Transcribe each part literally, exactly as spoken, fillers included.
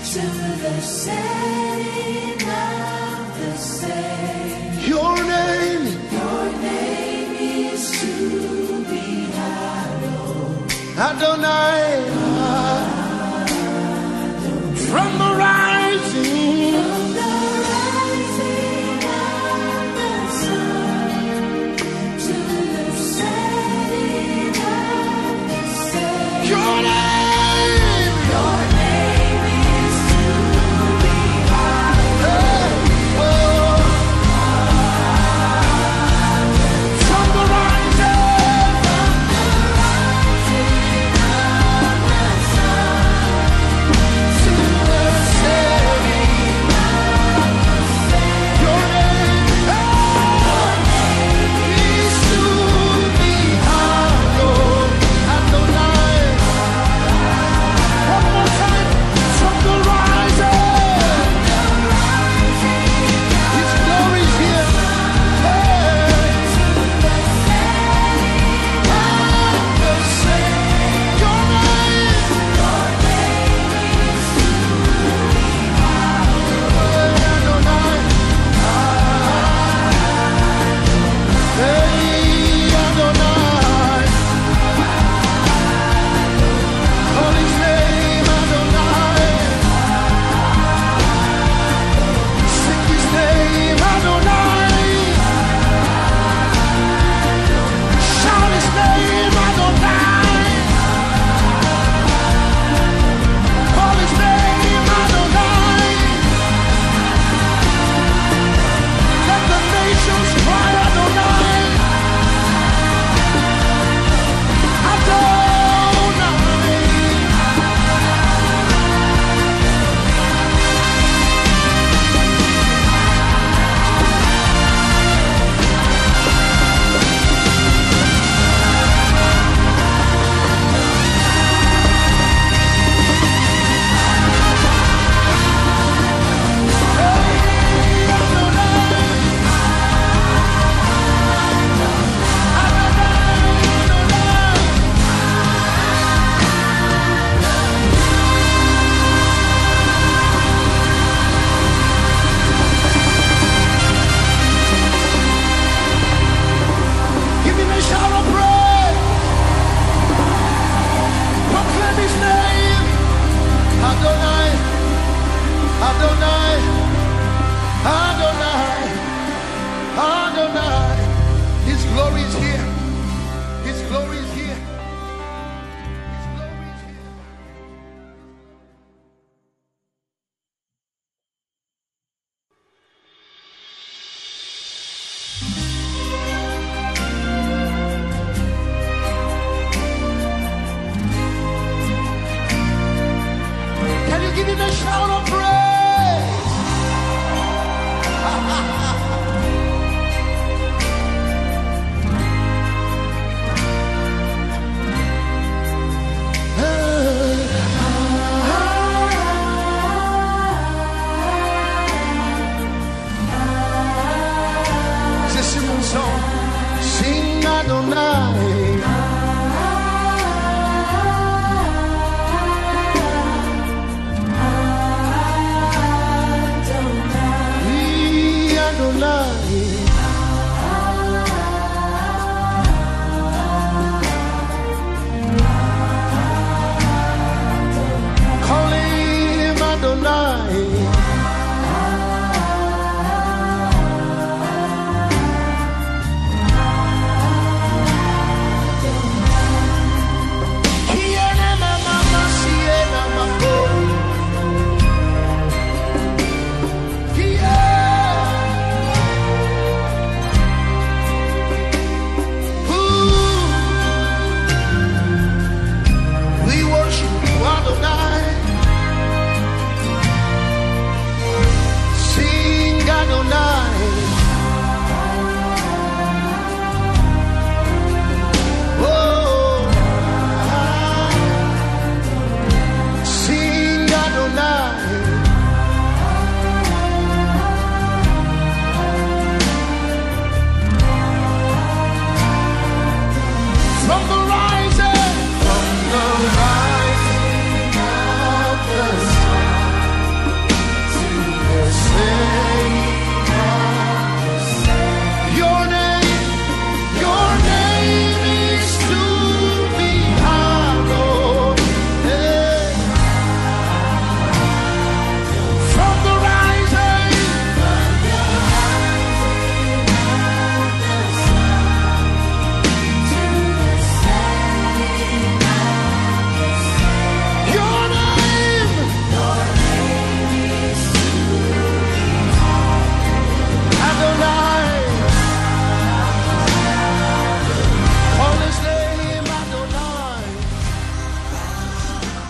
to the setting of the same. Your name, your name is to be hallowed. Adonai, from the rising, from the rising of the sun to the setting of the same. your name. Your name is to be hallowed. From the rising, From the rising of the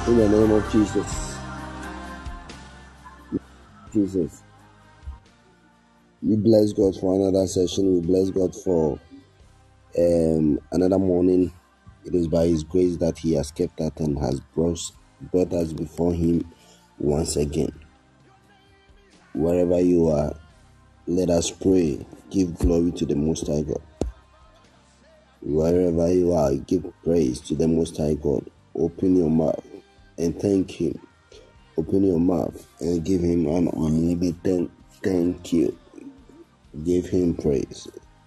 In the name of Jesus. Jesus. We bless God for another session. We bless God for um, another morning. It is by His grace that He has kept us and has brought, brought us before Him once again. Wherever you are, let us pray. Give glory to the Most High God. Wherever you are, give praise to the Most High God. Open your mouth and thank Him. Open your mouth and give Him an unlimited thank you. Give Him praise.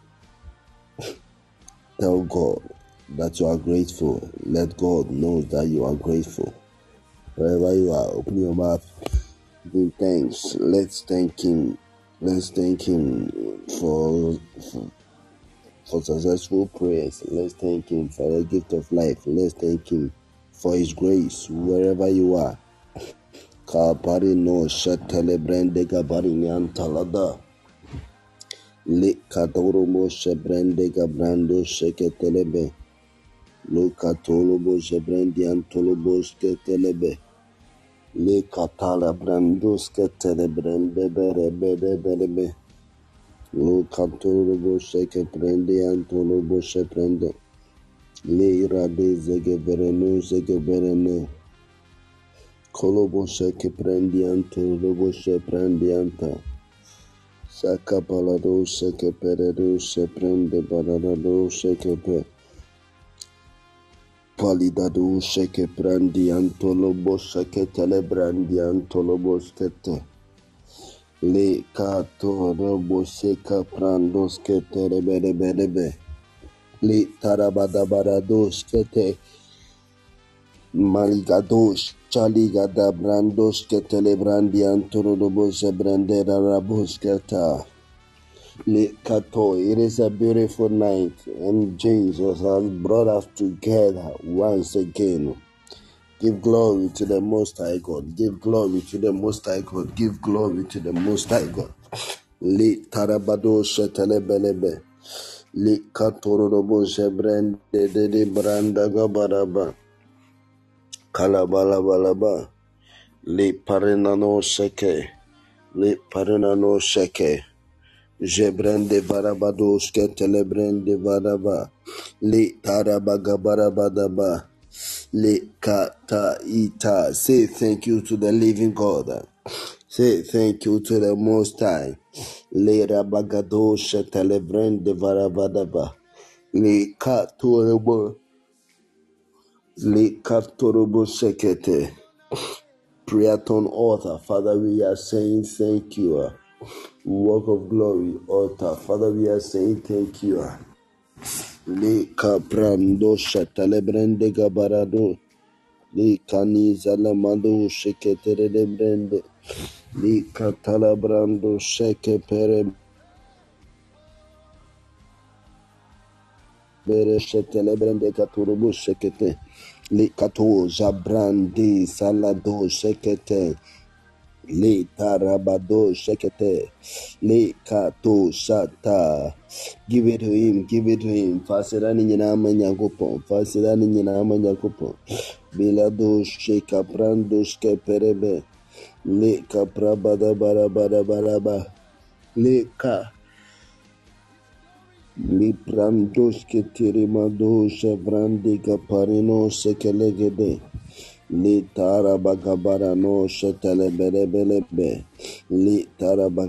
Tell God that you are grateful. Let God know that you are grateful. Wherever you are, open your mouth. Give thanks. Let's thank Him. Let's thank Him for, for for successful prayers. Let's thank Him for the gift of life. Let's thank Him for His grace. Wherever you are. Kapari no shatele brande gabari nyantalada. Le katoro mo shebrande gabrando sheketelebe. Lo katolo bo shebrandi antolobo sketelebe. Le katala brando sketelebrande bere bere bere bere. Lo katolo bo shekebrande antolobo shebrande. Le irade zege bereno zege berene. Kolobo shekebrandi antolobo shebrandi anta. Saka balado seke peredo sheprende balado seke pe. Palidado sheke brandi antolobo sheke telebrandi antolobo skete. Le kato robo sheka prando skete rebede bedebe. Le tarabada barado skete. Maligadosh chaligada brando skete lebrandi antolobo shebrande rabo sketa. Le kato, it is a beautiful night and Jesus has brought us together once again. Give glory to the Most High God. Give glory to the Most High God. Give glory to the Most High God. Le tarabado shetelebelebe. Le katorobo shebrende de de branda gabaraba. Kalabalabalaba. Le parenano sheke. Le parenano sheke. Jebrende varabados ketelebrende varaba. Le tarabagabarabadaba. Le kata ita. Say thank you to the living God. Say thank you to the Most High. Le rabagados ketelebrende varabadaba. Le katorobo. Le katorobo sekete. Priaton author. Father, we are saying thank you. Walk of glory altar. Father, we are saying thank you. Le caprando shatalebrende gabarado. Le caniza lamado sheketere de brende. Le catalabrando sheke pere bere shetelebrende caturubu shekete. Le cato jabrandi salado shekete. Le tarabado shekete. Le kato shata. Give it to him, give it to him. Fasirani nyinama nyankopon. Fasirani nyinama nyankopon. Bilado sheka prando skeperebe. Le kaprabada barabara baraba. Le ka. Le prando sketerimado shevrande kaparino sekelegede. Li tarabagabara no shetele bele bele be. Li tarabag.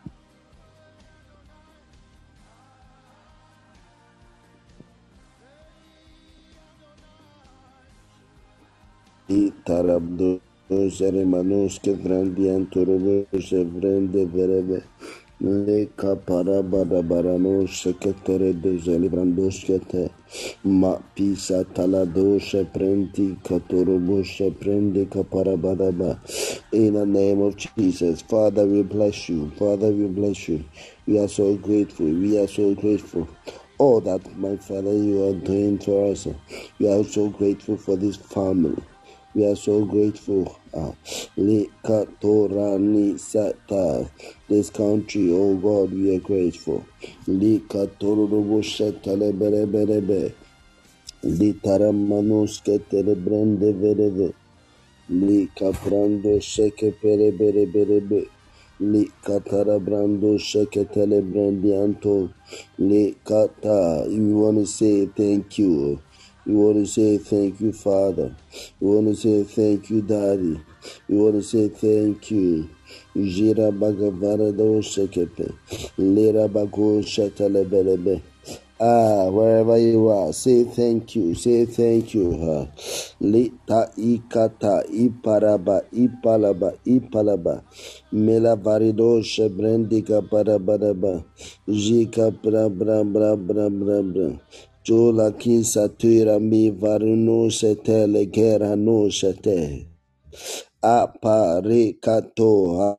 Li tarabdo jeremanos ke brandian turubo jevrende verebe. Le kapara bara bara no seketere de zelibrandos kete. Ma pisa talado sheprenti katorobo sheprende kapara badaba. In the name of Jesus, Father, we bless you. Father, we bless you. We are so grateful. We are so grateful. All that, my Father, you are doing for us. We are so grateful for this family. We are so grateful. Uh, Likatorani Sata. This country, oh God, we are grateful. Likatorobo Shetale Berebe. Litaramanoske Telebrende Vereve. Li caprando sheke pere bere bere be. Li katara brando sheke tele brandianto. Li kata. You want to say thank you. You want to say thank you, Father. You want to say thank you, Daddy. You want to say thank you. Jira bagavara do shekepe. Lira bago shatale belebe. Ah, wherever you are, say thank you, say thank you. Uh, Lita ikata iparaba ipalaba ipalaba mela varido shebrendika parabaraba jika bra bra bra bra bra bra jola kinsa tuira mi varuno setele gera no sete apare kato.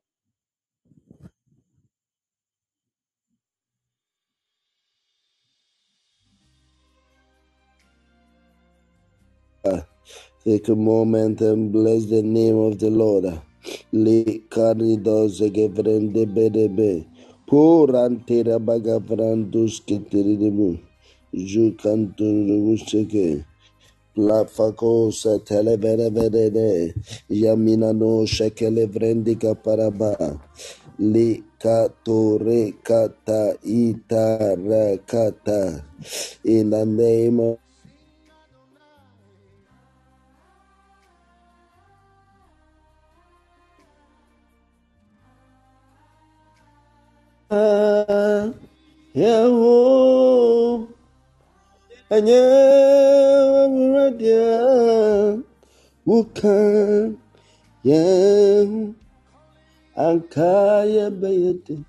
Take a moment and bless the name of the Lord. Le caridos gevrende bedebe. Purantera bagavrandus keteridimu. Jukanturumuseke. Plafacosa televereverede. Yamina no shekele vrendika paraba. Le katore kata ita rakata. In the name of Yahoo, and you ready, who can, yeah, Akaya Bayete,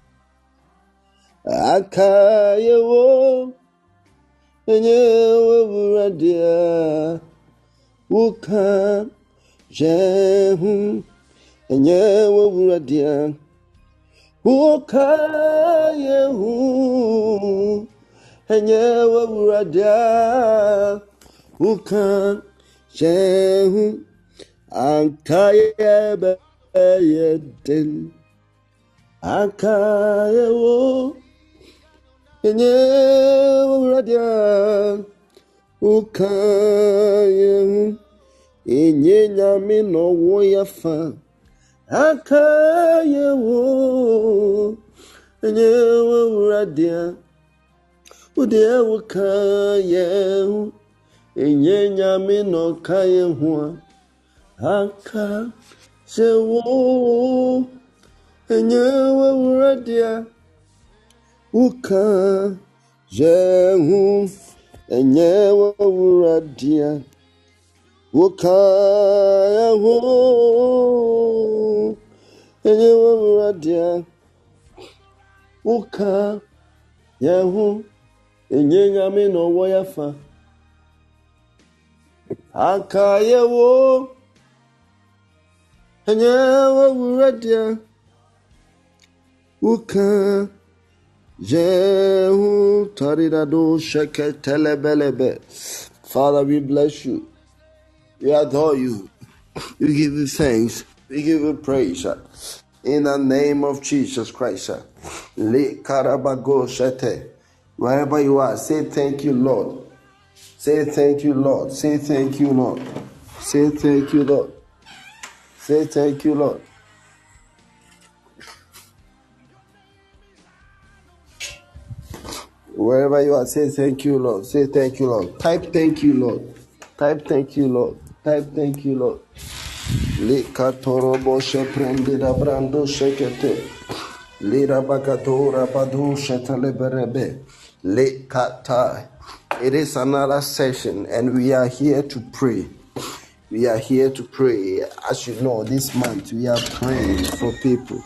Akaya wo, and you ready, who can, yeah, and you ready. Ukaya hu enye wawurada ukan shehu ankaya bayeden akaya wo enye wawurada ukaya hu enye nyame no wo yafa akaya wo enye wawuradia udia wakaya hu enye nyame no kaya hu aka se wo enye wawuradia uka jehu enye wawuradia ukaya hu enye wawuradia uka yehu enye nyame no wo yafa aka yewo enye wawuradia uka jehu taridado sheke telebelebe. Father, we bless you, we adore you, we give you thanks, we give you praise. In the name of Jesus Christ. Le karabago shete. Wherever you are, say thank you, Lord. Say thank you, Lord. Say thank you, Lord. Say thank you, Lord. Say thank you, Lord. Wherever you are, say thank you, Lord. Say thank you, Lord. Type thank you, Lord. Type thank you, Lord. Type thank you, Lord. Le katorobo sheprende da brando shekete. Le rabakatora badu shetaleberebe. Le kata. It is another session and we are here to pray. We are here to pray. As you know, this month we are praying for people.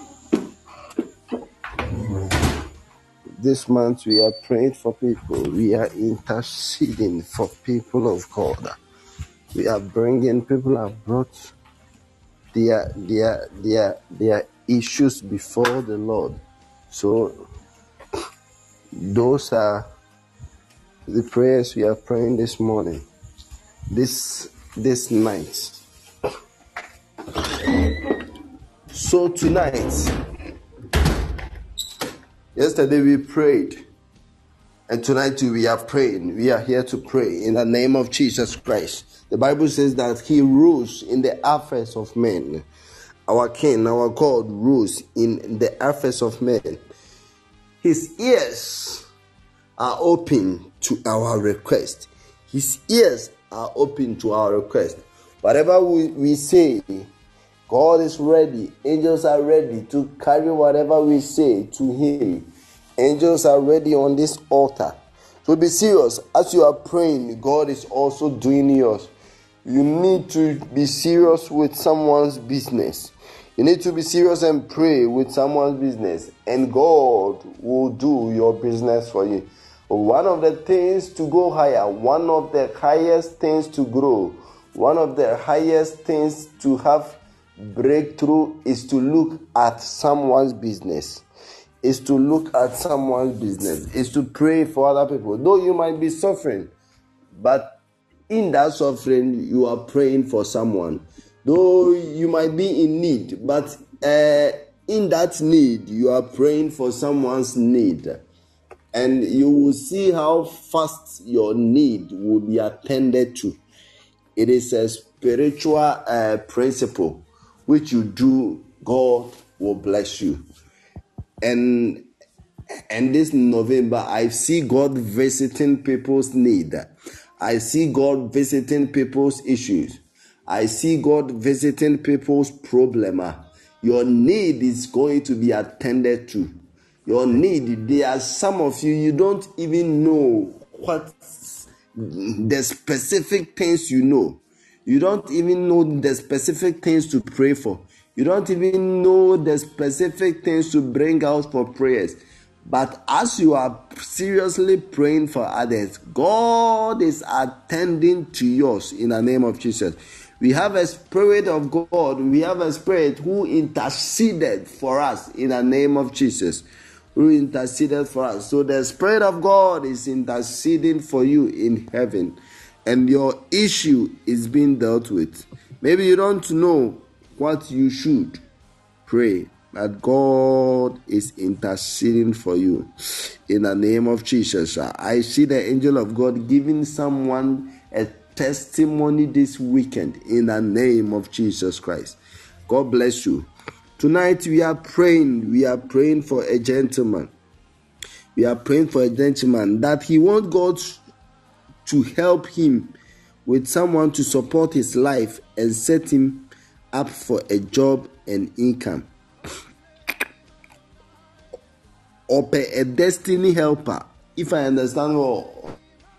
This month we are praying for people. We are interceding for people of God. We are bringing people have brought their their their their issues before the Lord. So those are the prayers we are praying this morning, this this night. So tonight, yesterday we prayed And tonight we are praying. We are here to pray in the name of Jesus Christ. The Bible says that he rules in the affairs of men. Our King, our God rules in the affairs of men. His ears are open to our request. His ears are open to our request. Whatever we, we say, God is ready. Angels are ready to carry whatever we say to him. Angels are ready on this altar. So be serious. As you are praying, God is also doing yours. You need to be serious with someone's business. You need to be serious and pray with someone's business. And God will do your business for you. One of the things to go higher, one of the highest things to grow, one of the highest things to have breakthrough is to look at someone's business. Is to look at someone's business. Is to pray for other people. Though you might be suffering, but in that suffering, you are praying for someone. Though you might be in need, but uh, in that need, you are praying for someone's need. And you will see how fast your need will be attended to. It is a spiritual uh, principle which you do, God will bless you. And and this November, I see God visiting people's need. I see God visiting people's issues. I see God visiting people's problem. Your need is going to be attended to. Your need, there are some of you, you don't even know what the specific things you know. You don't even know the specific things to pray for. You don't even know the specific things to bring out for prayers. But as you are seriously praying for others, God is attending to yours in the name of Jesus. We have a spirit of God. We have a spirit who interceded for us in the name of Jesus. Who interceded for us. So the Spirit of God is interceding for you in heaven. And your issue is being dealt with. Maybe you don't know what you should pray, but God is interceding for you in the name of Jesus. I see the angel of God giving someone a testimony this weekend in the name of Jesus Christ. God bless you. Tonight we are praying. We are praying for a gentleman. We are praying for a gentleman that he wants God to help him with someone to support his life and set him up for a job and income. Or a destiny helper, if I understand well.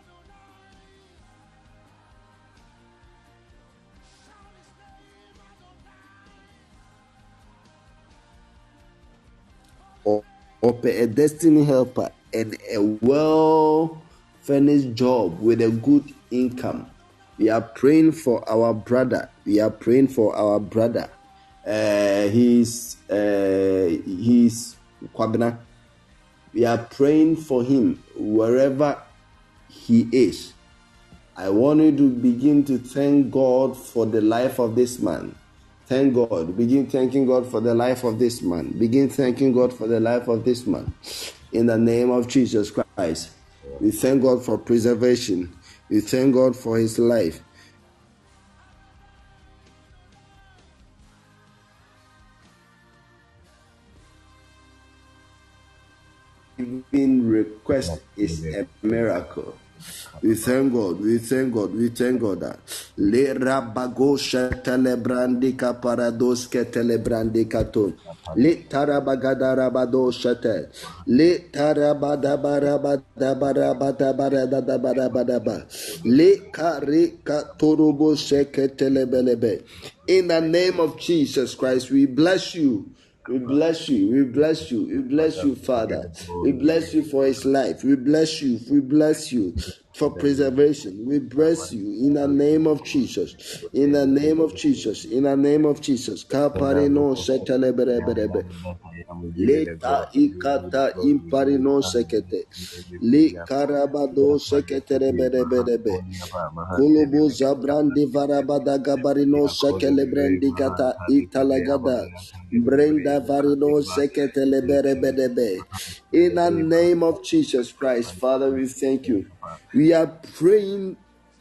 Or, or a destiny helper and a well-furnished job with a good income. We are praying for our brother. We are praying for our brother. Uh, he's uh, he's Kwabena. We are praying for him wherever he is. I want you to begin to thank God for the life of this man. Thank God. Begin thanking God for the life of this man. Begin thanking God for the life of this man. In the name of Jesus Christ. We thank God for preservation. We thank God for his life. Giving request is a miracle. We thank God, we thank God, we thank God that Le Rabagosha Telebrandika Parados Ketelebrandikaton Le Tarabagadarabados Shate Le Tarabadabarabadabarabadabarabadabarabadaba Le Karika Torobo Sheketelebelebe. In the name of Jesus Christ, we bless you. We bless you, we bless you, we bless you, Father. We bless you for his life. We bless you, we bless you. for preservation. We bless you in the name of Jesus. In the name of Jesus. In the name of Jesus. Kaparino seteleberebe. Leta ikata imparino sekete. Li karabado seketerebelebelebe. Kulubu zabrandi varabada gabarino sekelebrandi gata italagada. Brenda varino seketeleberebelebe. In the name of Jesus Christ, Father, we thank you. We are praying,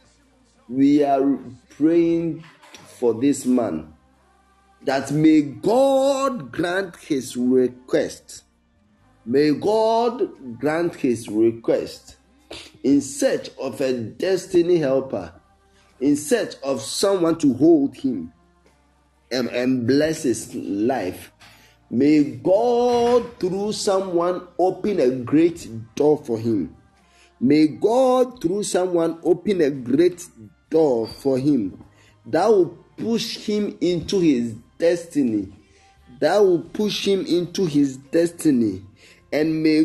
we are praying for this man, that may God grant his request. May God grant his request in search of a destiny helper, in search of someone to hold him and, and bless his life. May God, through someone, open a great door for him. May God, through someone, open a great door for him that will push him into his destiny. That will push him into his destiny. And may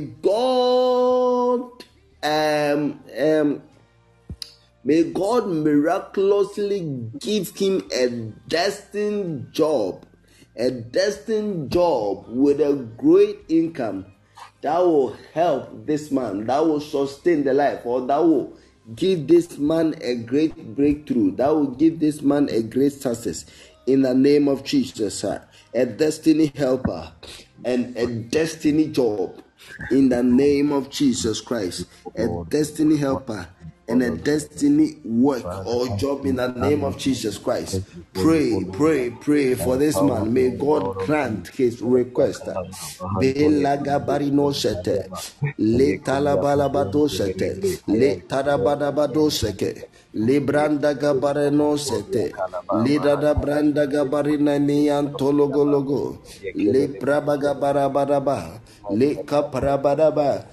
God, um, um, may God miraculously give him a destined job. A destined job with a great income that will help this man, that will sustain the life, or that will give this man a great breakthrough, that will give this man a great success in the name of Jesus, sir. A destiny helper and a destiny job in the name of Jesus Christ. A destiny helper and a destiny work or job in the name of Jesus Christ. Pray, pray, pray for this man. May God grant his request. Belagabarino sete, le talabalabado sete, le tarabadabado seke, le branda gabareno sete, le dada branda gabarina nian tologologo, le brabagabarabadaba, le kaparabadaba.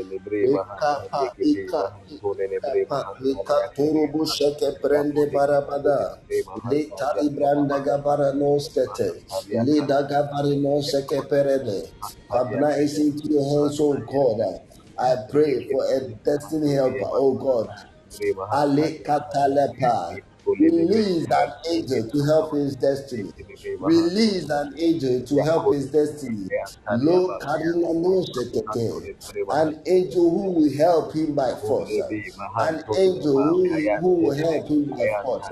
Ika ika ika ika turubu sheke prende barabada. Le tari branda gabara no skete. Le daga bari no seke perede. Kabna is into your hands, oh God. I pray for a destiny helper, oh God. Ale katalepa. Release an angel to help his destiny. Release an angel to help his destiny. Lo karina no sekete. An angel who will help him by force. An angel who, who will help him by force.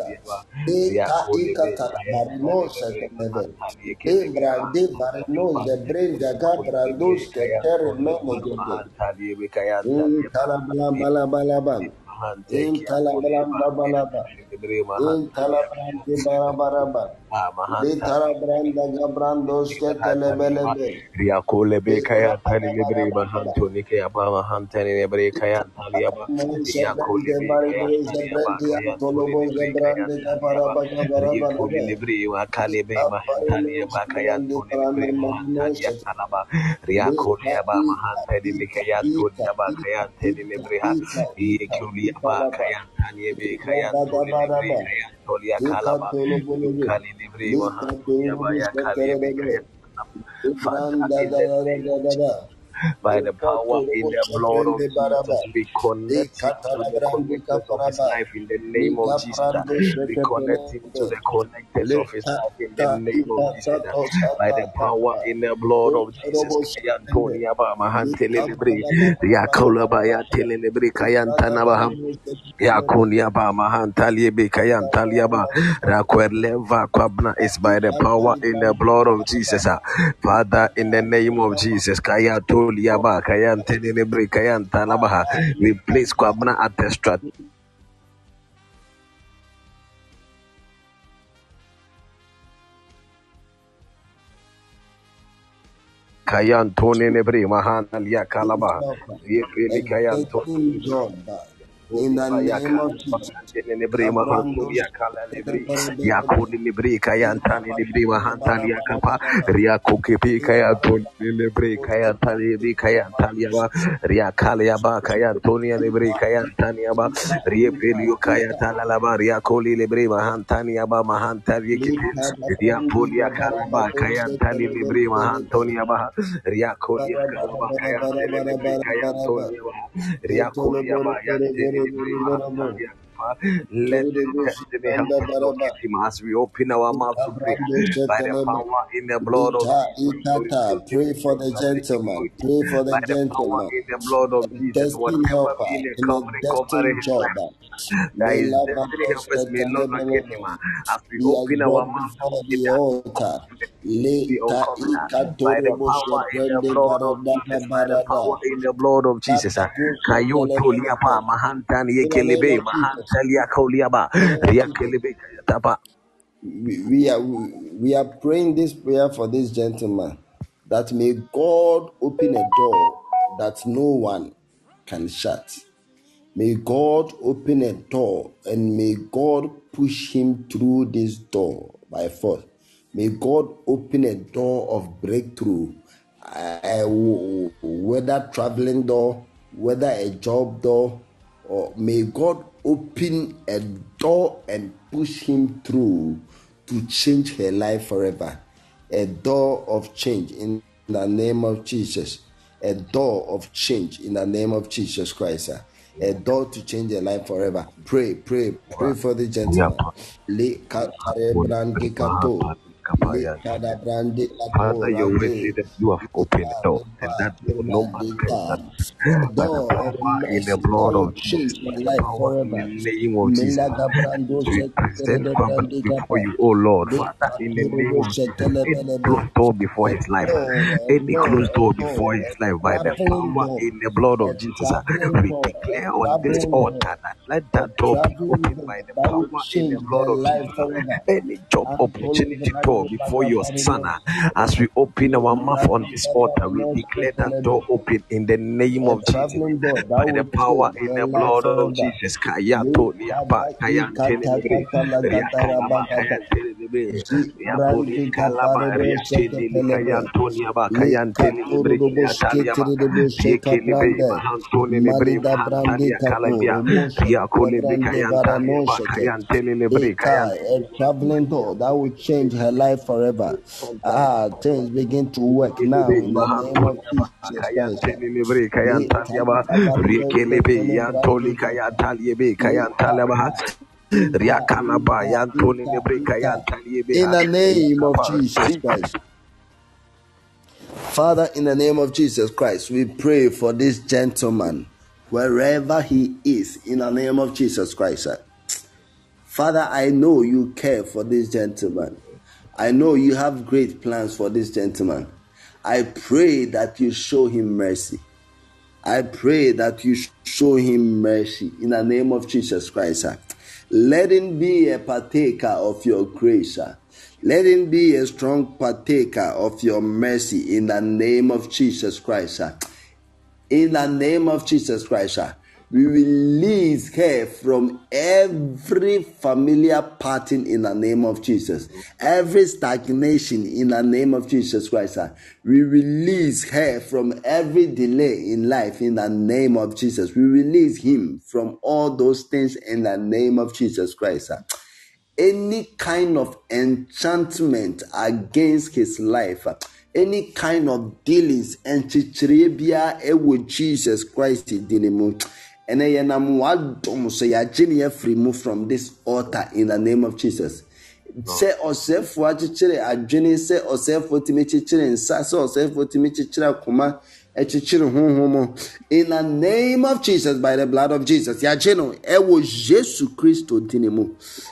Eka eka tarabarino sekete. Embra de barino zebre jaga brandos ketere menegede. In talabalabalabalaban. In talabalabalaba. In talabrande barabaraba. Le talabranda gabrandos ketelebelebe. Riakolebe Le kaya tani libre kaparabaraba. mahanto nike apa mahantani libre kaya taliaba Zebrande Riakolebe kaya baride taliaba zebrande kaya tuli antolobo libre kaya zebrande taliaba gabaraba Riakoli gabarabaraba. libre wakalebe Kaparino mahantaliaba kaya zebrande tuli parana libre mahantalia manosete. talaba Le Riakoli ka aba ika mahantani libre ika kaya tuli ika aba ika kaya tani ika libre ha ika ika Riakoli ika aba laba. kaya tani libre kaya tuli libre Rabadabaraba. kaya tuli akalaba Ikatolobolobo. Yukali libre mahantulia ba ya kalebe Likatolobusheterebe. kaya Father, in the name of Ibrandadadadadada. Jesus, by the power in the blood of Ikatolobusheprende baraba. Jesus, we connect him to the Ikatalabrandika connectors of his paraba. life in the name of Jesus. uh, Likaprando We connect him to shekepelebe. the connectors of his life in the Likata name of Jesus. uh, By the power ipatato in the blood of Jesus. Kaya Utoroboshende. Antonia ba mahantele libre. Yakola ba ya Likabadabadabadabadaba. tele libre kaya antana ba ham. Librandabadabadabadaba. Yakunia ba mahantalie be kayantalia ba rakwerleva kwabna is by the power in the blood of Jesus. ah. Father, in the name of Jesus, kayatolia ba kayantene bre kayantana ba. We place kwabna at the strat. Kayantone nebre mahanalia kalaba. A Yefeli kayantone destined job in the name of Jesus. Libre Kabrandos. mahantulia kala libre yakuni libre kayantani libre mahantali yakapa riako kepe kayantoni libre kayantali libre kayantali yaba riakali yaba kayantoni libre kayantani yaba riepelio kayatala laba riakoli libre mahantani yaba mahantali kepe riapoli yakala ba kayantali libre mahantoni yaba riakoli yakala ba kayantali libre kayantoni yaba riakoli yaba yantani Let destiny help us locate him as we open our mouth to pray. By the power in the blood of Jesus. Pray for the gentleman. Pray for the By the power gentleman. in the blood of Jesus. Destiny Whatever helper being a in a covering, covering destined his job. life, that his destiny helpers may not locate him. As we He has open our brought mouth to before pray the that altar. be Leka uncovered by the ikatorobo power in the shebrende blood of baradana Jesus, by the barada. power in the blood of Jesus. Kayo toliapa mahantan In the name yekelebe of Jesus. mahantalia kauliaba In the name of Jesus. riakelebe kayataba. We, we are we are praying this prayer for this gentleman, that may God open a door that no one can shut. May God open a door and may God push him through this door by force. May God open a door of breakthrough, uh, w- whether traveling door, whether a job door, or may God open a door and push him through to change her life forever. A door of change in the name of Jesus. A door of change in the name of Jesus Christ. uh, A door to change your life forever. Pray, pray, pray for the gentleman. Le katare brandi kato. Le kada brandi kato Father, your word rade. says that you have opened the door, and that door no man can shut. A By the door of power in the mercy that blood will of Jesus, change by my the life power in forever. the name of Jesus, Melaga brando as we shetere present de Father brandi before kapa. you, oh Lord, Le Father, in the name katoro of Jesus, shetele any belebe. closed door before A his life, door, a any door, closed door a door, before his a life, by the traveling power door, in the blood a of Jesus, uh, traveling we door, a declare on this traveling door, altar that let a that door be traveling opened by door the that will power in the change blood their of life Jesus. uh, forever. Any job Antolo opportunity door brande before your son, bagabarino, uh, as we open le our mouth on brande this altar, we babarino declare that shetelebe. door open in the name A of Jesus. traveling door that By the will power change in their the life blood of forever. Jesus. Le Kayato liapa kada kayantene ikata libre. kata la gatara Riakalaba bagada. kayantene libre. Zi Riapoli brandi kalaba kaparebo seke riatene li pelebe. kayantonia ba Le kayantene libre. katoro robo Kayataliaba. sketiri robo sheka Rieke libre brande. mahantone libre Malida brandi mahantalia kalabia. katoro mo Riako shekele libre brande kayantalia barano ba sheke. kayantene Le libre kai, kayantene. a traveling door that will change her life forever. Ah, things begin to work now in the name of Jesus Christ. Kayantelibre Le Kayantaliaba kalida barebo Rekelebe shekele Yantoli brande kapa. Kayantaliebe Le Kayantalabaha Ika, Riakalaba Ika, Yantoni Ika, Libre Ika. Kayantaliebe In the name of Riakapa. Jesus Christ. Father, in the name of Jesus Christ, we pray for this gentleman, wherever he is, in the name of Jesus Christ. Father, I know you care for this gentleman. I know you have great plans for this gentleman. I pray that you show him mercy. I pray that you show him mercy in the name of Jesus Christ. Let him be a partaker of your grace. Let him be a strong partaker of your mercy in the name of Jesus Christ. In the name of Jesus Christ, we release her from every familiar pattern in the name of Jesus. Every stagnation in the name of Jesus Christ. We release her from every delay in life in the name of Jesus. We release him from all those things in the name of Jesus Christ. Any kind of enchantment against his life, any kind of dealings and chichirebia with Jesus Christ dinimu. And I am wadom so ya jini free move from this altar in the name of Jesus. Say osefo achichire adwene say osefo timi chichire nsa say osefo timi chichire akoma echichire honhomo in the name of Jesus, by the blood of Jesus. Ya jeno e wo Jesus Christo dinimu.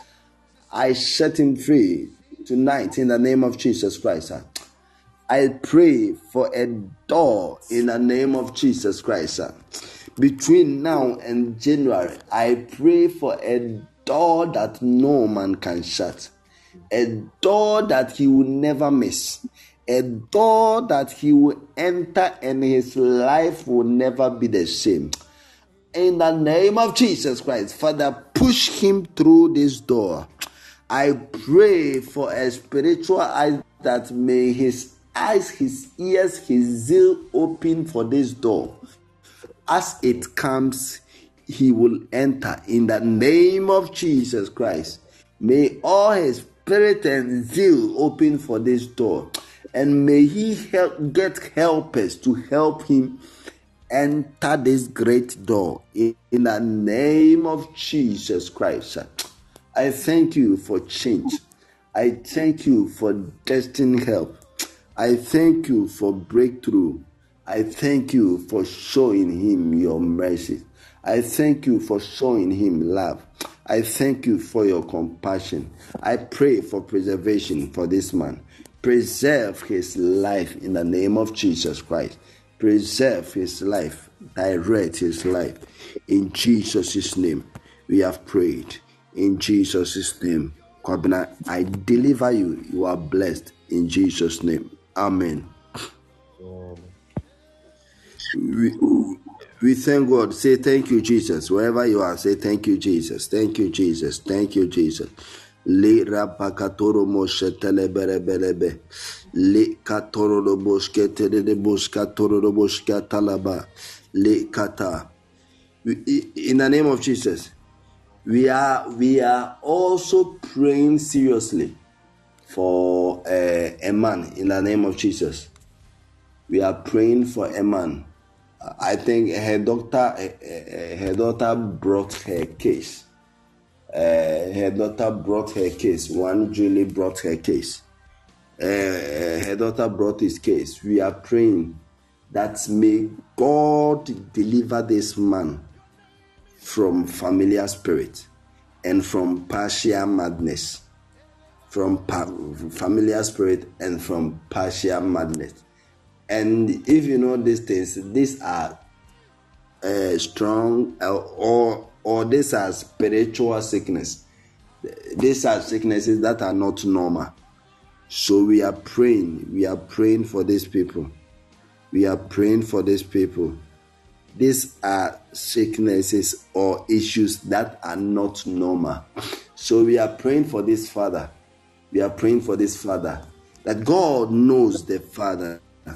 I set him free tonight in the name of Jesus Christ. I pray for a door in the name of Jesus Christ. Between now and January, I pray for a door that no man can shut. A door that he will never miss. A door that he will enter and his life will never be the same. In the name of Jesus Christ, Father, push him through this door. I pray for a spiritual eye that may his eyes, his ears, his zeal open for this door. As it comes, he will enter in the name of Jesus Christ. May all his spirit and zeal open for this door. And may he help get helpers to help him enter this great door in, in the name of Jesus Christ. I thank you for change. I thank you for destined help. I thank you for breakthrough. I thank you for showing him your mercy. I thank you for showing him love. I thank you for your compassion. I pray for preservation for this man. Preserve his life in the name of Jesus Christ. Preserve his life. Direct his life. In Jesus' name, we have prayed. In Jesus' name, Kwabena, I deliver you. You are blessed. In Jesus' name. Amen. We, we thank God. Say thank you, Jesus. Wherever you are, say thank you, Jesus. Thank you, Jesus. Thank you, Jesus. Le rapakatoro moshe teleberebelebe. Le katoro do boshke tele de boshkatoro do boshka talaba. Le kata. In the name of Jesus, we are we are also praying seriously for uh, a man. In the name of Jesus, we are praying for a man. I think her doctor, uh, her daughter brought her case. Uh, her daughter brought her case. One Julie brought her case. Uh, her daughter brought his case. We are praying that may God deliver this man from familiar spirit and from partial madness. From pa- familiar spirit and from partial madness. And if you know these things, these are uh, strong uh, or or these are spiritual sickness. These are sicknesses that are not normal. So we are praying. We are praying for these people. We are praying for these people. These are sicknesses or issues that are not normal. So we are praying for this father. We are praying for this father. That God knows the father.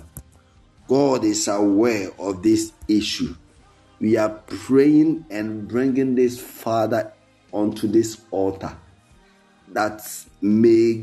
God is aware of this issue. We are praying and bringing this father onto this altar. That may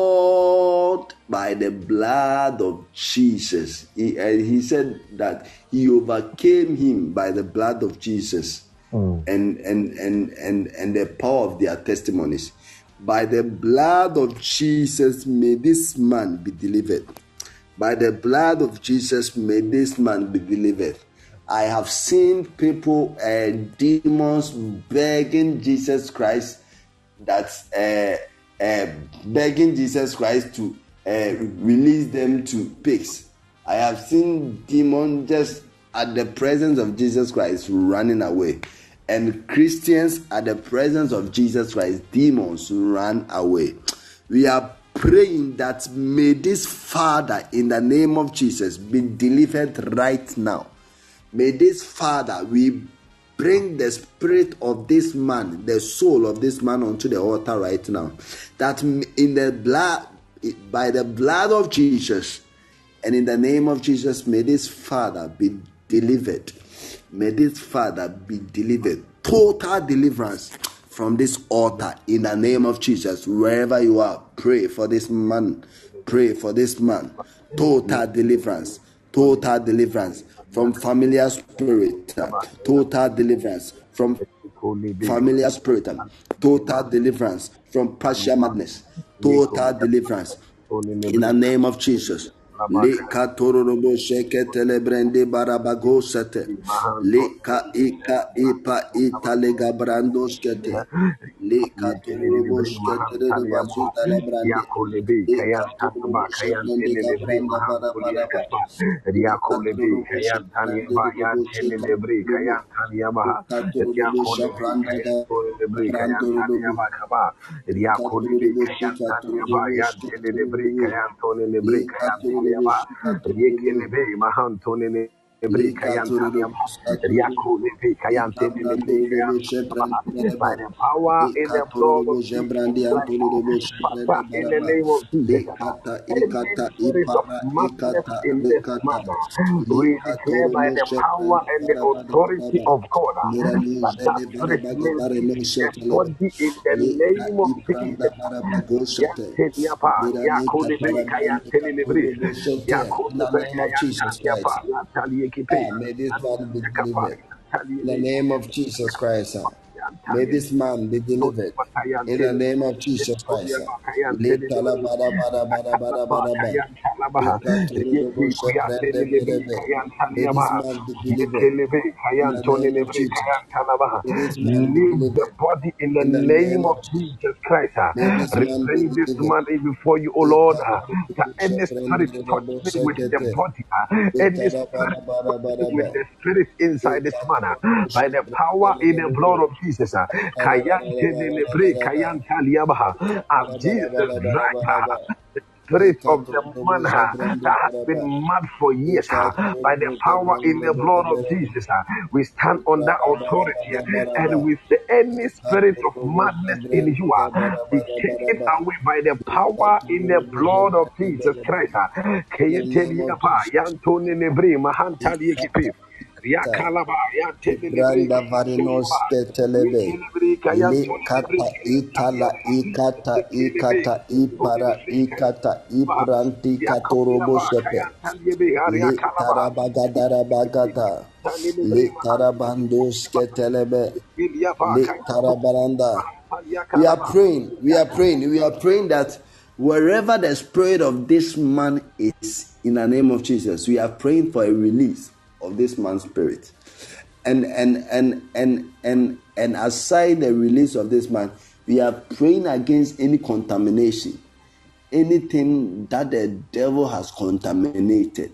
God, by the blood of Jesus, he, uh, he said that he overcame him by the blood of Jesus mm. and, and, and, and, and the power of their testimonies. By the blood of Jesus, may this man be delivered. By the blood of Jesus, may this man be delivered. I have seen people, uh, demons, begging Jesus Christ, that's uh, uh, begging Jesus Christ to uh, release them to pigs. I have seen demons just at the presence of Jesus Christ running away. And Christians at the presence of Jesus Christ, demons run away. We are praying that may this father in the name of Jesus be delivered right now. May this father, we bring the spirit of this man, the soul of this man onto the altar right now. That in the blood, by the blood of Jesus and in the name of Jesus, may this father be delivered. May this father be delivered. Total deliverance from this altar in the name of Jesus. Wherever you are, pray for this man. Pray for this man. Total deliverance. Total deliverance from familiar spirit. Total deliverance from familiar spirit. Total deliverance from partial madness. Total deliverance in the name of Jesus. Le katorobo sheketele brande barabago sete. Le ka ika ipa ita lega brando skete. Le katorobo sheketele basuta le brande. Le katorobo shebrande gabranda barabaraba. Le katorobo shebrande robo shekatorobo. Le katorobo shebranda gabrando robo. Le katorobo shekatorobo shekatorobo. Le katorobo shekatorobo. Le katorobo shekatorobo. Le kabrandorobo shebrande By baraba. the power Le in the blood of katorobo Jesus shebrande Christ, antorobo Father, shebrande in the baraba. name of Le Jesus, kata any ikata spirit of ipara madness ikata in le this kata. man, Le we declare by katorobo the power shebrande and the baraba authority baraba. of God Mirani that that zele spirit baraba may gabare no leave the shetelebe. body in the Le ka name of ipranda Jesus. baraba goshete. Yanteliapa, Mirani Yakolebe, kapara brande Kayantelebe, katorobo shete. In the Yakolebe, name of Jesus Kayantaliapa, Christ. Ah, may this man be delivered. In the name of Jesus Christ. ah. May this man be delivered. In the name of Jesus Christ. ah. Litala bada bada bada bada bada bada. Ikaturu dobo shebrende berebe. May this man be delivered. In the name of Jesus. May this man be Leave the delivered. body in the In the name name of of Jesus. Jesus Christ. ah. May this man be Restrain this delivered. man before you, O Lord. ah. That Ikaturu any shebrende spirit berebe touching with the sekete. body, ah, any Litala spirit bada bada bada touching with bada. the spirit inside this man, ah, Ikaturu by the shebrende power in the blood berebe. of Jesus. ah. Bada bada Kayante bada bada nelebre, bada bada. kayanta liabaha. As Bada bada Jesus bada bada right, bada ah, bada. the spirit of the man Ikaturu ah, shebrende that has berebe. been mad for years, ah, by the Ikaturu power in shebrende the blood of berebe. Jesus. ah, We stand on that authority, ah, and Bada-bada-bada-bada-ba. we say any spirit of madness in you ah, be taken Ikaturu-shebrende-bada-bada-ba. away by the power in the blood of Jesus Ikaturu-shebrende-bada-ba. Christ. ah. In the name of Keyeteliapa, Jesus. Yantoni Mahantali ekipe. Ikata-ikata. Riakalaba, Yantelebre, Ibranda varinos Kayantoliaba. ketelebe. Yekelebre, Kayantolibre, Likata itala Kayantaliaba. ikata Yekelebe, ikata ipara Yantolibre, ikata Kayantoliaba. ipranti katorobo Riakoliaba, shepe. Kayantaliebe, Li Ariakalaba. tarabagadara bagata. Yantelebre, Li Mahantaliaba. tarabandos ketelebe. Yeliaba, Li Kayantoliaba. tarabaranda. We are Mahantaliakalaba. praying. We are praying. We are praying that wherever the spirit of this man is, in the name of Jesus, we are praying for a release of this man's spirit. And and and and and and aside the release of this man, we are praying against any contamination, anything that the devil has contaminated.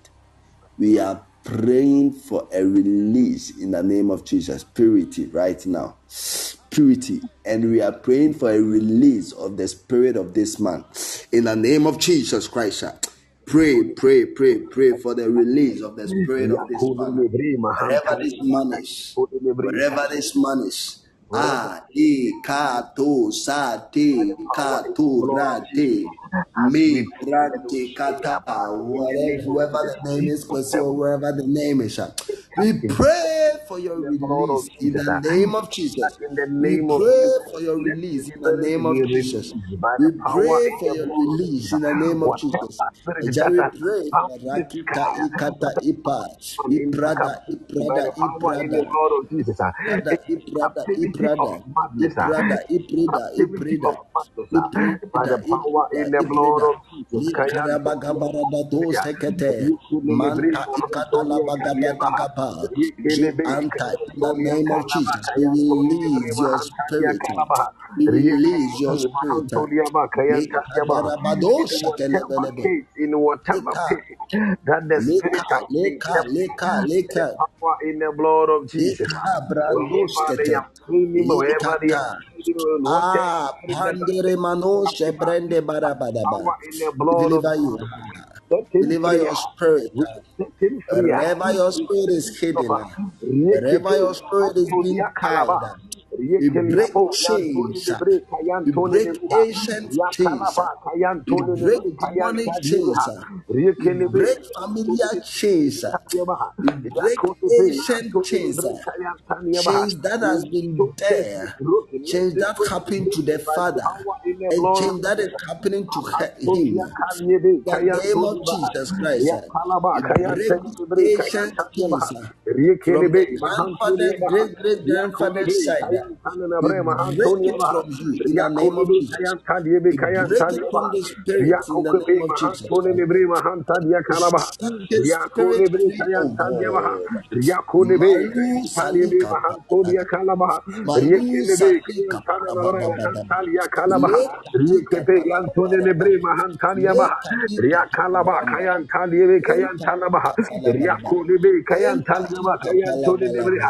We are praying for a release in the name of Jesus. Purity right now. Purity. And we are praying for a release of the spirit of this man. In the name of Jesus Christ. Pray, pray, pray, pray for the release of the spirit of this man. Yakolelebre, Wherever this Mahantaliaba. man is. Kayantolibre, Wherever this man is. wherever Ah, e ka to sa te power ka in the to blood of ra Jesus te as we me pray and we prante shake kata. up uh, in the Whatever, name of whoever Jesus. the name is, Kwesi, or Whatever wherever the name is, ah, is we captive pray for your in the blood of release in Jesus. the uh, name of that Jesus. in the We name of pray Jesus, for your let release the in the spirit name be of Jesus. released by We the power pray in for the your blood of release Jesus. in the name of Jesus. Whatever spirit Shall that we has pray bound for this Rakita guy, Ikata whatever Ipa from into Iprada captivity by Iprada the power in the Iprada blood of Jesus. uh, Iprada Any Iprada captivity of Iprada madness, uh, Iprada Iprida captivity Iprida of madness, uh, by Iprida the power Iprida in the blood Iprida of Jesus. Kayanto, Likarabagabarabado sekete Yekelelebre, Manta Mahantolia, Kaliabaha, Ikatalabagabagaba Ji Yekelebe, Anta in the Kayantolia, name of Kalaba, Jesus. We Kayantolibre, release your Mahantalia, spirit. Kalabaha, We release your Yekelebe, spirit. Mahantolia, Kayantaliabaha. Likadarabado In whatever shakelebelebe. case, in whatever Leka place that the Leka spirit has been Leka kept, Leka by the Leka power in the blood of Jesus. Leka Wherever they brandoskete. have seen him, wherever they have Likata. seen him, whatever Ah, spirit that has pandere been mano captive, shebrende by the barabadaba. power in the We blood of deliver you. Jesus. Set him Deliver free. your spirit. We set him free. Wherever your We spirit set is him hidden, free. wherever Rekepe, your spirit is being Antonia tied, Kalaba. we break Rekeliabo, Yantoni chains. Lebre, We Kayantoni break Lebre, ancient chains. Yakalaba, We Kayantoni break Lebre, demonic Kayantani Lebre, chains. We Rekelebe, break Yantoni familiar chains. Lebre, We break Yakotepe, ancient Yantoni chains. Lebre, Kayantani Lebre. Chains that has been So chains be there. broken. Let Change the that chains be happened to the broken by the father. power in the And blood of change that is Jesus. happening to he- him. Antonia Kanyebe, In the name of Kayantoniba, Jesus Christ. uh, Yakalaba, We break Kayantanibre, the ancient Kayantaniaba, chains uh, from Riekelebe, the grandfather, Mahantoniaba, great great grandfather's Yakolebe, side. uh, We Kayantanabre, break it Mahantoniaba, from you in the name of Yakolebe, Jesus. Kayantaniebe, We break it Kayantaniaba, from the spirit in the Yakokebe, name of Jesus. Mahantonibre, Mahantadia We Kalaba, set his spirit Yakolebe, free, oh Kayantaniaba, God. Yakolebe, Malu Kayantaniebe, salika Mahantodia Kalaba, Malu Riekelebe, salika Kayantanabre, parababababa. Mahantalia Kalaba, Le katika Riekepe, talabaraba. Yantonibre, Mahantaniaba, Le katika Riakalaba, talabaraba. Kayantaliebe, Enta Kayantanabaha, talabaraba. Riakolebe, Enta Kayantaliaba, tika talabaraba. Kayantonibriha,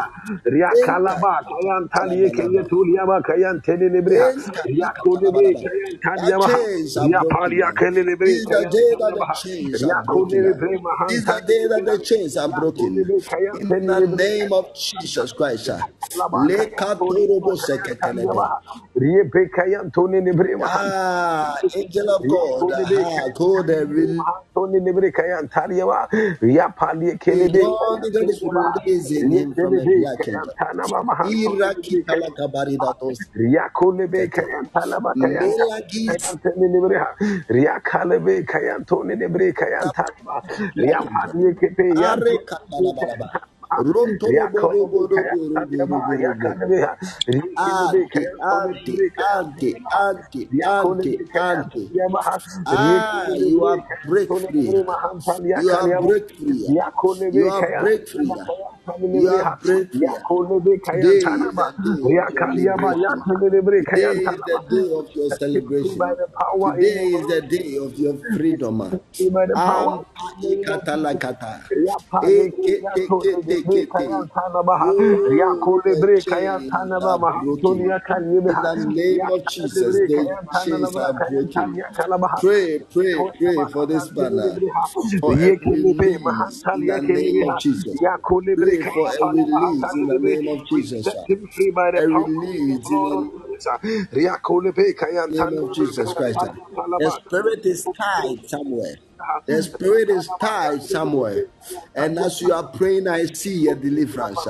Enta Riakalaba, tika Kayantalie, talabaraba. Kayetuliaba, Kayantenibriha, Enta tika Riakolebe, talabaraba. That Kayantaliabaha, chains are broken. Riapalia, Kelelebre, This is the day that the Kayantanabaha, chains are broken. Riakolebe, This is the day that Mahantanibriha, the chains are broken. Riakolebe, In the Kayantenibriha, name of Jesus Christ. Riakalaba, Le Kayantoniaba, katorobo seketelebe. Kayantaliaba, Riepekayantonene Ah, angel of God, ah, God, uh, release beyond the releasing him from a black kingdom. Iraki talakabarida dos Riakole be kete. kayantala bakayanta. Melagis Kayantene nebreha. Riakale be kayantone nebre kayantala. kingdom. Riapadi kepe Are yantone nebre katalabalaba. kayantala. Rontolo Riakole boro be boro boro kayantala boro ba boro boro. yakale be ha. Riakele be Ante, kayantone ante, nebre ante, kayantala ba. ante, Riakole be ante, ante. kayantala ba ha. Ah, Riakele you be are break kayantone free. nebre mahantala You are yakale ba. break free. Riakole You be are break kayantala free. ba kayantala You nebre are ha. break free. Riakole be Today kayantala is ba. the day of your Riakale ba liberation. yantone nebre Today is kayantala the ba. day of your Set him free celebration. by the power in the Today is the blood. day of your freedom. Set him free by the power Ampa in the name of Jesus. ikatalakata. Riapale Ekete kiyantole kete lebre kete. kayantana baha. Oh, Riakole the bre chains kayantana ba are mahantoni broken. yakanye In beha. the name of Riakale Jesus, lebre the kayantana na chains ba are kayantani broken. yakala baha. Pray, pray, Riakole pray for this mahantani banner, lebre ha. for a Riekele be release in mahantali the yakele name of beha. Jesus. Riakole bre Pray for a kayantana release in mahantani the lebre. name of We Jesus. set him free by the A power in the release in blood of the Jesus. Riakole be name kayantana of lebre Jesus Christ. kayantani yakala The baha. spirit is tied somewhere. The spirit is tied somewhere. And as you are praying, I see a deliverance.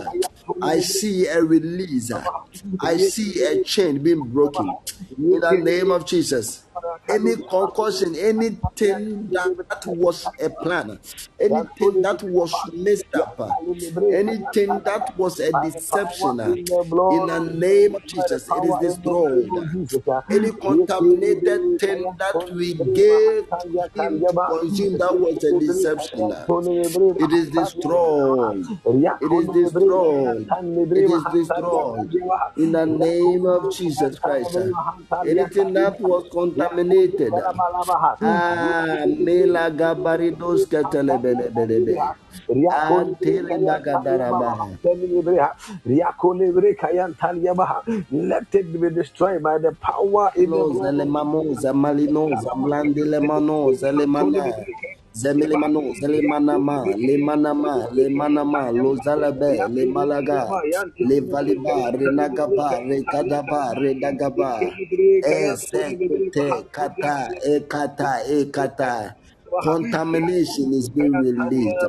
I see a release. I see a chain being broken. In the name of Jesus. Any concussion, anything that was a plan, anything that was messed up, anything that was a By the power deception, in the in blood the of name of Jesus, by the Jesus, it is power in the name destroyed. of Jesus. uh, Any Yekere contaminated bere thing kaya that toni we bere gave mahantanya to him to karyaba. consume, that was a Yekere bere deception. kaya toni bere It is mahantanya karyaba. destroyed. It is Riyakoni bere kaya destroyed. tani bere It is mahantanya destroyed. karyaba. In the name Riyakoni of bere kaya Jesus tani Christ. bere mahantanya Anything that karyaba. was Riyakoni contaminated. bere malabaha. Ah, Yekere bere mela gabaridos mahantanya karyaba. ketelebelebelebe. Riyakoni bere Antele kaya karyaba bagadarabaha. mahantanya bere ha. Riyakoni bere kaya taliyabaha. Let it be destroyed by the power in the Los blood of elemamos, amalinos, amblande lemanos, elemana, zemelemano, zelemanama, lemanama, lemanama, los alabe, le malaga, le valiba, renagaba, rekadaba, redagaba, ezekete, kata, ekata, ekata. Contamination is being released.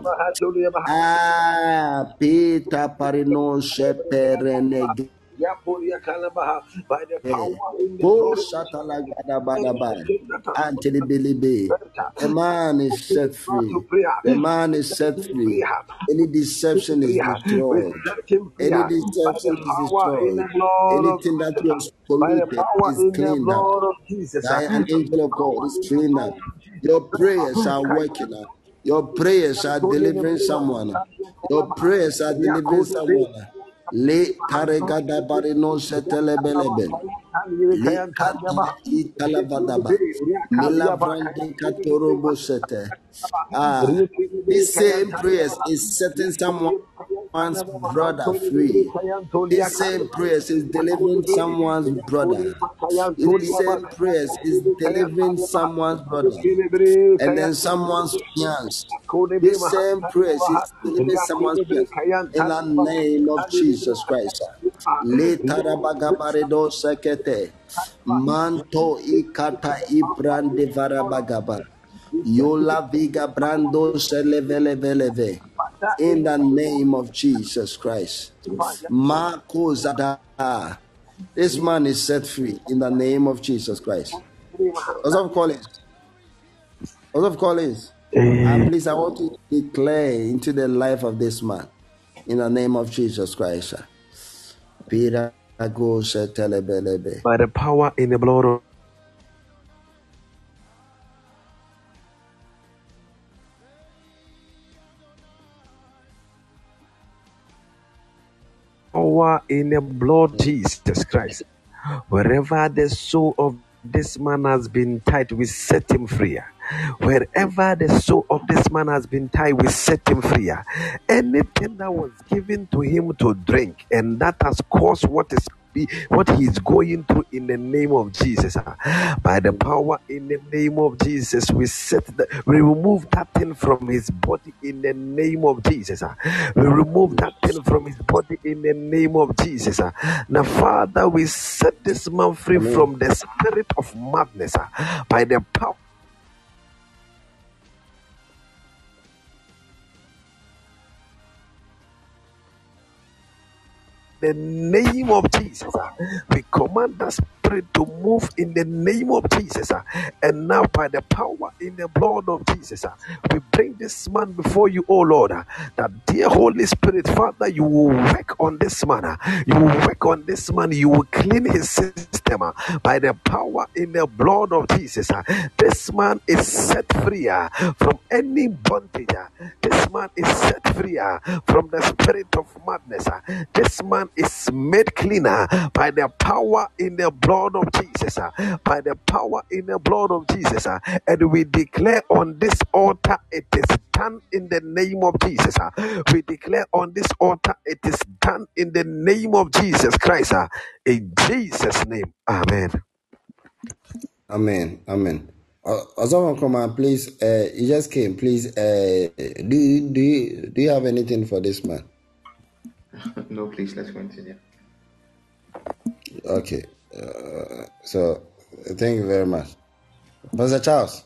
Ah, Peter Parino Sheperenege. By the power in the Go blood of Shatalagadabaraba. anything that has Anthony Bilibi. The man is set free. The man is set free. Any deception is we destroyed. set him free Any by the deception is power in destroyed. the blood of Anything that Jesus, was by the polluted power is in the cleaned up. blood of Jesus, By by an angel the of God power is in the cleaned blood up. of Jesus. Your prayers are working up. Your prayers are delivering someone. Your prayers are delivering someone. Le taregada barino setelebelebe. Le kata italavadaba. Milavrande katorobo sete. Ah, this same prayers is setting someone's brother free. This same prayers is delivering someone's brother. This same prayers is delivering someone's brother and then someone's fiance. This same prayers is delivering someone's fiance in the name of Jesus Christ. Letarabagabaredo sekete. Manto ikata ibrande varabagaba. Yola viga brando seleveleve. In the name of Jesus Christ. Marco Zada. This man is set free in the name of Jesus Christ. Joseph Collins. Joseph Collins. Uh, please, I want to declare into the life of this man in the name of Jesus Christ. Peter goes telebelebe. By the power in the blood of power in the blood of Jesus Christ. Wherever the soul of this man has been tied, we set him free. Wherever the soul of this man has been tied, we set him free. Anything that was given to him to drink and that has caused what is be, what he is going through in the name of Jesus. ah. By the power in the name of Jesus, we set the, we remove that thing from his body in the name of Jesus. ah. We remove that thing from his body in the name of Jesus. ah. Now, Father, we set this man free Amen. from the spirit of madness ah, by the power. The name of Jesus, ah. We command that spirit to move in the name of Jesus, ah. And now by the power in the blood of Jesus, ah, we bring this man before you, oh Lord, ah, that dear Holy Spirit, Father, you will work on this man, ah. You will work on this man, you will clean his system ah, by the power in the blood of Jesus. ah. This man is set free ah, from any bondage. ah. This man is set free ah, from the spirit of madness. ah. This man is made cleaner by the power in the blood of Jesus. ah. By the power in the blood of Jesus. ah. And we declare on this altar, it is done in the name of Jesus. ah. We declare on this altar, it is done in the name of Jesus Christ. ah. In Jesus' name, amen. Amen. Amen. Uh, Osama, come on, please. Uh, you just came. Please. Uh, do you, do you, do you have anything for this man? No, please, let's continue. Okay. Uh, so, thank you very much, Pastor Charles.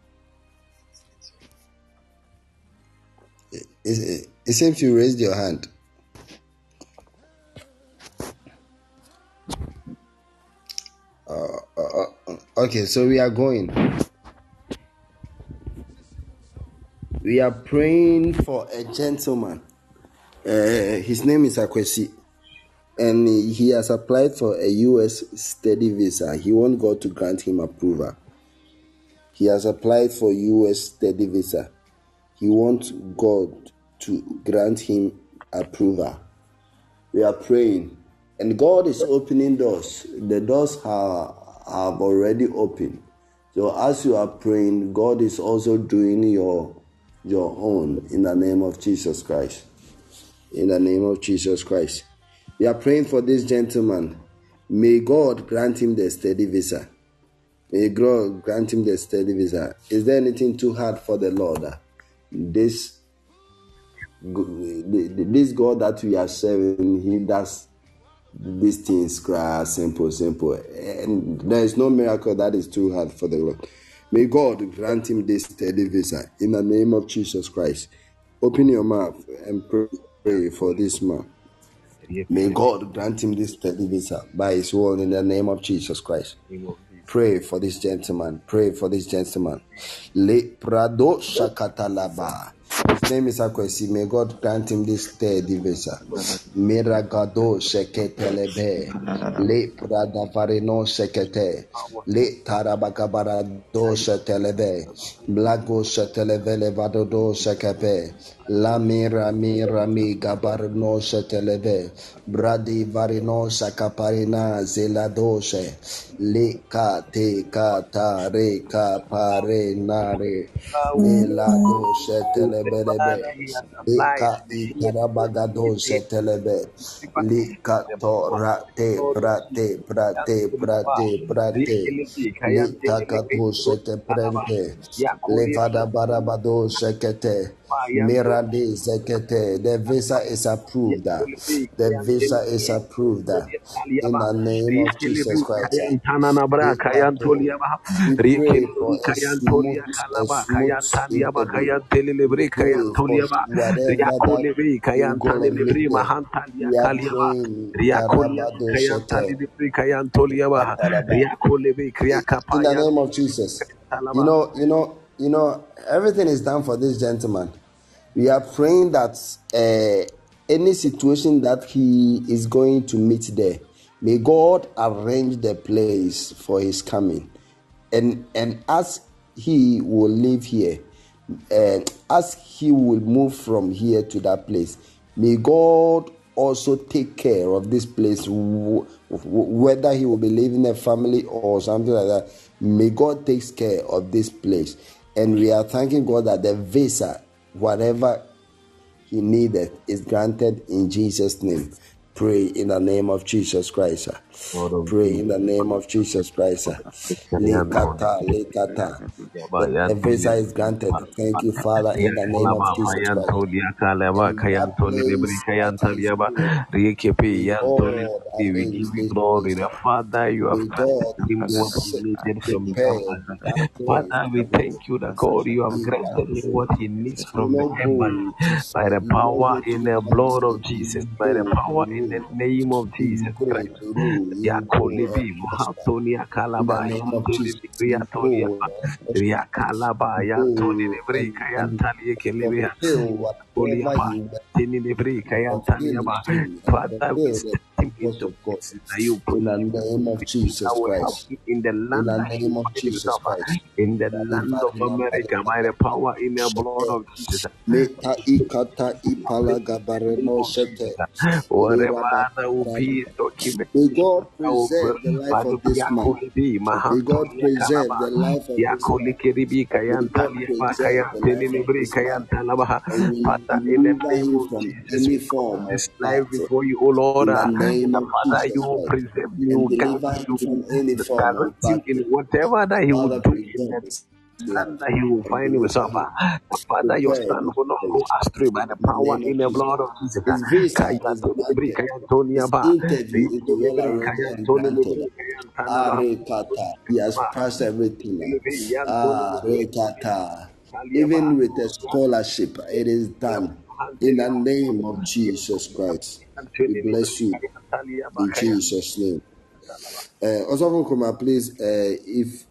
It, it, it seems you raised your hand. Uh, uh, uh, okay, so we are going. We are praying for a gentleman. Uh, his name is Akwesi, and he has applied for a U S study visa. He wants God to grant him approval. He has applied for U S study visa. He wants God to grant him approval. We are praying, and God is opening doors. The doors have, have already opened. So as you are praying, God is also doing your your own in the name of Jesus Christ. In the name of Jesus Christ. We are praying for this gentleman. May God grant him the study visa. May God grant him the study visa. Is there anything too hard for the Lord? This, this God that we are serving, he does these things simple, simple. And there is no miracle that is too hard for the Lord. May God grant him this study visa in the name of Jesus Christ. Open your mouth and pray. Pray for this man. May God grant him this study visa by his word in the name of Jesus Christ. Pray for this gentleman. Pray for this gentleman. Le Prado Shakatalaba. His name is Akwesi. May God grant him this study visa. Miragado Sheketelebe. Le Prada Varino Shekete. Le Tarabakabarado Shetelebe. Blago Sheteleve Levado Shekepe. La mira mira mi gabarno sheteleve bradi varino shakaparina zeladoshe le ka te ka ta re ka pare nare melado shetelebelebe le ka itarabagado shetelebe le ka to rate prate prate prate prate le takato sheteprente le vada barabado shekete Mirade Zekete. The visa is approved. The visa is approved in the name of Jesus Christ. We pray for a smooth, a smooth interview. Pray for whatever that you're gonna meet there. We are praying Karabado Shete. In the name of Jesus. You know, you know, you know, everything is done for this gentleman. We are praying that uh, any situation that he is going to meet there, may God arrange the place for his coming. And and as he will live here, uh, as he will move from here to that place, may God also take care of this place, w- w- whether he will be living a family or something like that. May God take care of this place. And we are thanking God that the visa, whatever he needed, is granted in Jesus' name. Pray in the name of Jesus Christ. Lord of Pray in Jesus. the name of Jesus Christ. Lekata, lekata. The visa is granted. Thank you, Father, in the name of Yakalaba, Jesus Christ. Mayantoni, Yakalaba, And that Kayantoni, Libri, place that is Kayantaliaba, good, Rikepi, may Yantoni, God we arrange give you this glory. place. The Father, you have May granted God him what he s- needed from prepare heaven. that place Father, we for him. thank you that God, you have He granted that him what he needs will from the not heaven. go to By the he will not power go in to the United blood of States. He Jesus, will by the go power in the Peru. name of He will Jesus go Christ. Peru. He will go Yakolibi, and prosper. Mahantoni, In Yakalaba, the name of Yantoni, Jesus, Libri, he will Yantoni, go and prosper. Yakalaba, He will Yantoni, go Libri, and, and Kayantali, Ekelibi, fulfill whatever Oliaba, he wants Tini, Libri, to fulfill Kayantaliaba. his dream and Father, we fulfill the set him purpose into of God. places that you In the promise name of that Jesus will help Christ. him in the In land the that he will name of find Jesus himself, uh, Christ. in the land of America, by the power in the blood of Jesus. uh, Meta ikata ipala In the name gabareno of shete. Jesus, uh, wherever Lira there will bakara. be May documentation God that will preserve the life Bible of this man. Yakolibi, May God Mahantolia preserve Kalaba, the life of this man. Yakolikiribi May God Kayantaliaba, preserve the life of Kayantinibri this man Kayantalaba. and will Father, in the deliver name him of from Jesus, any we commit form of this life battle. before you, O Lord. In the uh, name The of Father, you Jesus will Christ. preserve, you And will guide deliver him, him you from any will form of direct him in battle. whatever that he will Father, do in preserve the his land life that he will and find deliver himself. him. uh, The Father, your Prepare son his will not go place astray by the in the power name in of the Jesus. blood of Jesus. His visa is Kayantinibri granted. His Kayantoniaba, interview is well arranged and granted. Kayantinibri Kayantanaba. Arekata. He has passed everything. Arekata. Even with a scholarship, it is done. In the name of Jesus Christ. We bless you in Jesus' name. Uh, Osofo Nkrumah, please, uh, if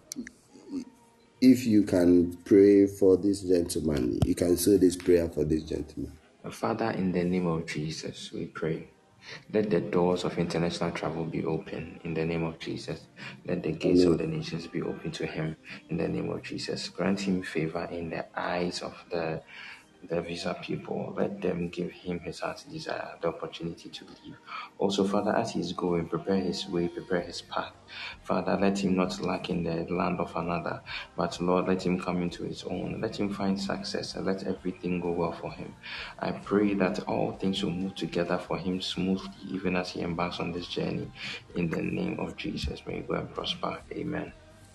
if you can pray for this gentleman, you can say this prayer for this gentleman. Father, in the name of Jesus, we pray. Let the doors of international travel be open in the name of Jesus. Let the gates of Amen. the nations be open to him in the name of Jesus. Grant him favor in the eyes of the the visa people. Let them give him his heart's desire, the opportunity to leave. Also, Father, as he is going, prepare his way, prepare his path. Father, let him not lack in the land of another, but Lord, let him come into his own. Let him find success and let everything go well for him. I pray that all things will move together for him smoothly, even as he embarks on this journey. In the name of Jesus, may you go and prosper. Amen.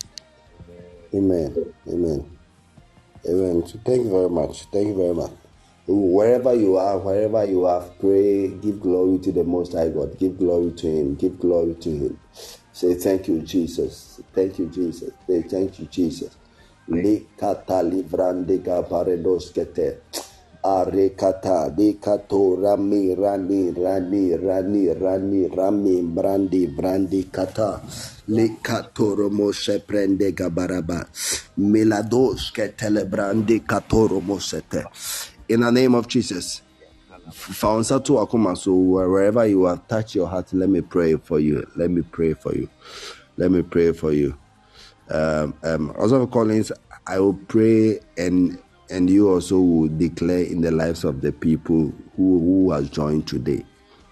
Amen. Amen. Amen. So thank you very much. Thank you very much. Wherever you are, wherever you are, pray, give glory to the Most High God. Give glory to Him. Give glory to Him. Say thank you, Jesus. Thank you, Jesus. Say thank you, Jesus. Likata livrandega paredoskete. Arekata dekato rami rani rani rani rani rami brandi brandi kata lekato romo prende gabaraba milados ketele brandi kato romo sete. In the name of Jesus, found Satu Akuma. So wherever you are, touch your heart. Let me pray for you. Let me pray for you. Let me pray for you. Um, um, also, Collins, I will pray and and you also will declare in the lives of the people who who has joined today.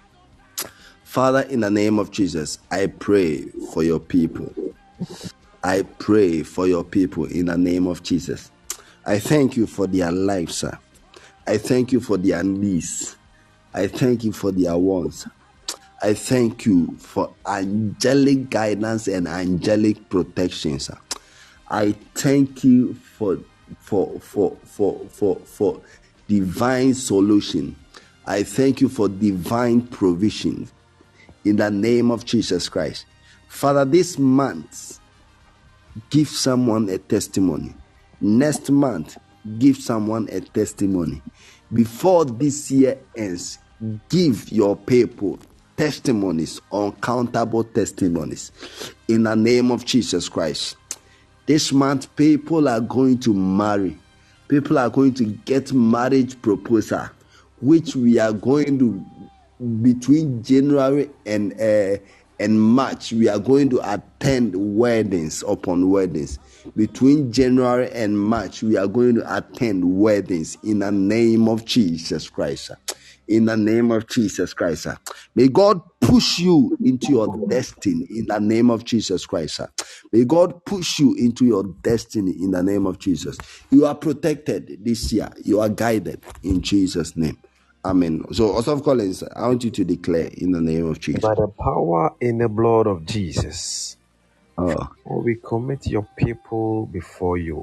Father, in the name of Jesus, I pray for your people. I pray for your people in the name of Jesus. I thank you for their lives, sir. I thank you for their needs. I thank you for their wants. I thank you for angelic guidance and angelic protection, sir. I thank you for for for for for for divine solution. I thank you for divine provision in the name of Jesus Christ. Father, this month, give someone a testimony. Next month, give someone a testimony. Before this year ends, give your people testimonies, uncountable testimonies in the name of Jesus Christ. This month, people are going to marry. People are going to get marriage proposal, which we are going to, between January and uh, and March, we are going to attend weddings upon weddings. Between January and March, we are going to attend weddings in the name of Jesus Christ. In the name of Jesus Christ. May God push you into your destiny in the name of Jesus Christ. May God push you into your destiny in the name of Jesus. You are protected this year. You are guided in Jesus' name. Amen. So, Osoph Collins, I want you to declare in the name of Jesus. By the power in the blood of Jesus, Oh, we commit your people before you.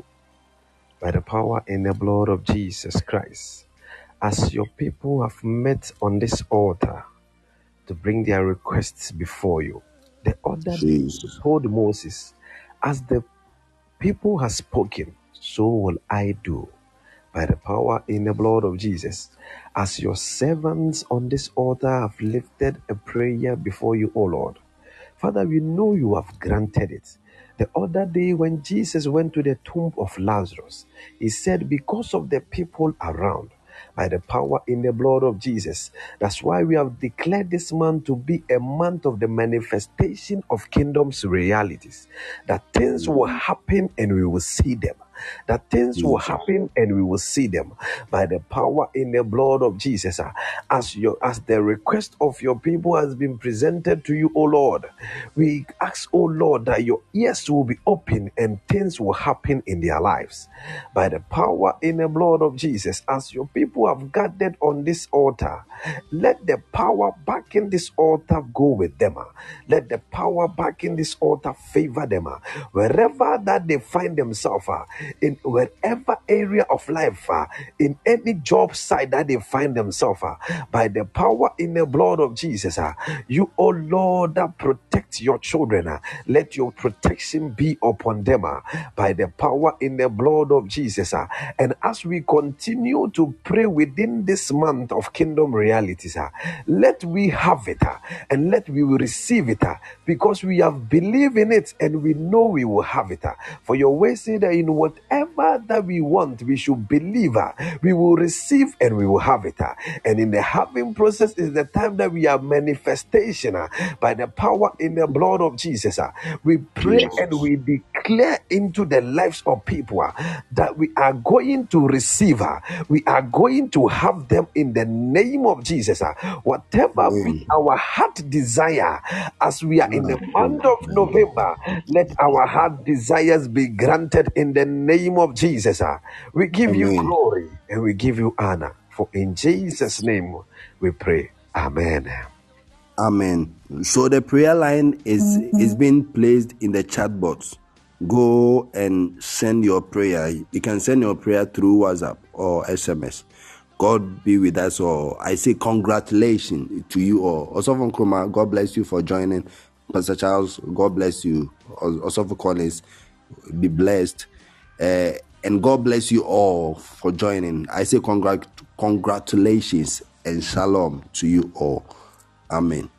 By the power in the blood of Jesus Christ, as your people have met on this altar to bring their requests before you. The other day you Jesus. told Moses, as the people have spoken, so will I do. By the power in the blood of Jesus, as your servants on this altar have lifted a prayer before you, O Lord. Father, we know you have granted it. The other day when Jesus went to the tomb of Lazarus, he said, because of the people around, by the power in the blood of Jesus. That's why we have declared this month to be a month of the manifestation of kingdom's realities. That things will happen and we will see them. That things will Jesus. happen and we will see them by the power in the blood of Jesus. Ah, As your as the request of your people has been presented to you, O Lord, we ask, O Lord, that your ears will be open and things will happen in their lives by the power in the blood of Jesus. As your people have gathered on this altar, let the power back in this altar go with them. ah. Let the power back in this altar favor them. ah. Wherever that they find themselves, ah, in wherever area of life, ah, in any job site that they find themselves, ah, by the power in the blood of Jesus, ah, you, oh Lord, that protect your children, ah, let your protection be upon them ah, by the power in the blood of Jesus. ah. And as we continue to pray within this month of kingdom realities, ah, let we have it ah, and let we will receive it ah, because we have believed in it and we know we will have it. ah. For your way say that in whatever that we want, we should believe, ah, we will receive and we will have it. ah. And in the having process is the time that we are manifestation ah, by the power in the blood of Jesus. ah. We pray Jesus. and we declare into the lives of people ah, that we are going to receive, ah, we are going to have them in the name of Jesus. ah. Whatever be Amen. our heart desire, as we are in the month of November, let our heart desires be granted in the name of Jesus. ah. We give you Amen. glory and we give you honor. For in Jesus' name we pray. Amen. Amen. So the prayer line is is being placed in the chat box. Go and send your prayer. You can send your prayer through WhatsApp or S M S. God be with us all. I say congratulations to you all. Osofo Nkrumah, God bless you for joining. Pastor Charles, God bless you. Osofo Collins, be blessed. Uh, and God bless you all for joining. I say congrat- congratulations and shalom to you all. Amen.